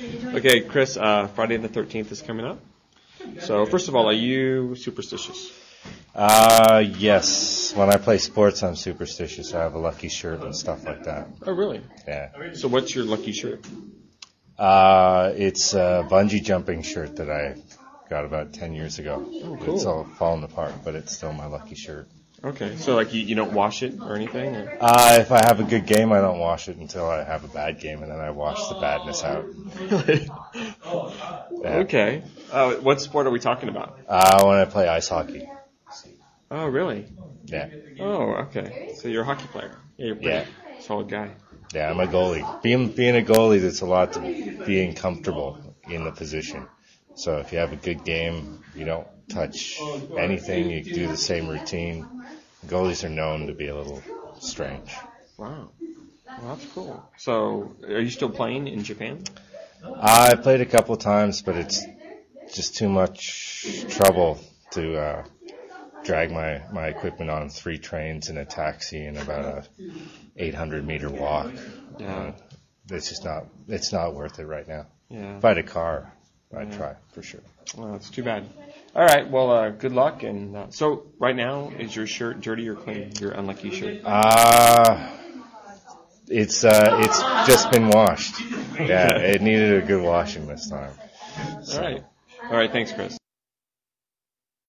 Okay, Chris, Friday the 13th is coming up. So, first of all, are you superstitious? Yes. When I play sports, I'm superstitious. I have a lucky shirt and stuff like that. Oh, really? Yeah. So, what's your lucky shirt? It's a bungee jumping shirt that I got about 10 years ago. Oh, cool. It's all fallen apart, but it's still my lucky shirt. Okay, so like you don't wash it or anything? Or? If I have a good game, I don't wash it until I have a bad game, and then I wash the badness out. Really? Yeah. Okay. What sport are we talking about? When I play ice hockey. Oh, really? Yeah. Oh, okay. So you're a hockey player. Yeah, you're a pretty solid guy. Yeah, I'm a goalie. Being a goalie, there's a lot to being comfortable in the position. So if you have a good game, you don't touch anything, you do the same routine. Goalies are known to be a little strange. Wow. Well, that's cool. So are you still playing in Japan? I played a couple times, but it's just too much trouble to drag my equipment on 3 trains and a taxi and about a 800-meter walk. Yeah. It's not worth it right now. Yeah. If I had a car, I'd try for sure. Well, that's too bad. All right. Well, good luck. And so, right now, is your shirt dirty or clean? Your unlucky shirt. It's just been washed. Yeah, it needed a good washing this time. So. All right. All right. Thanks, Chris.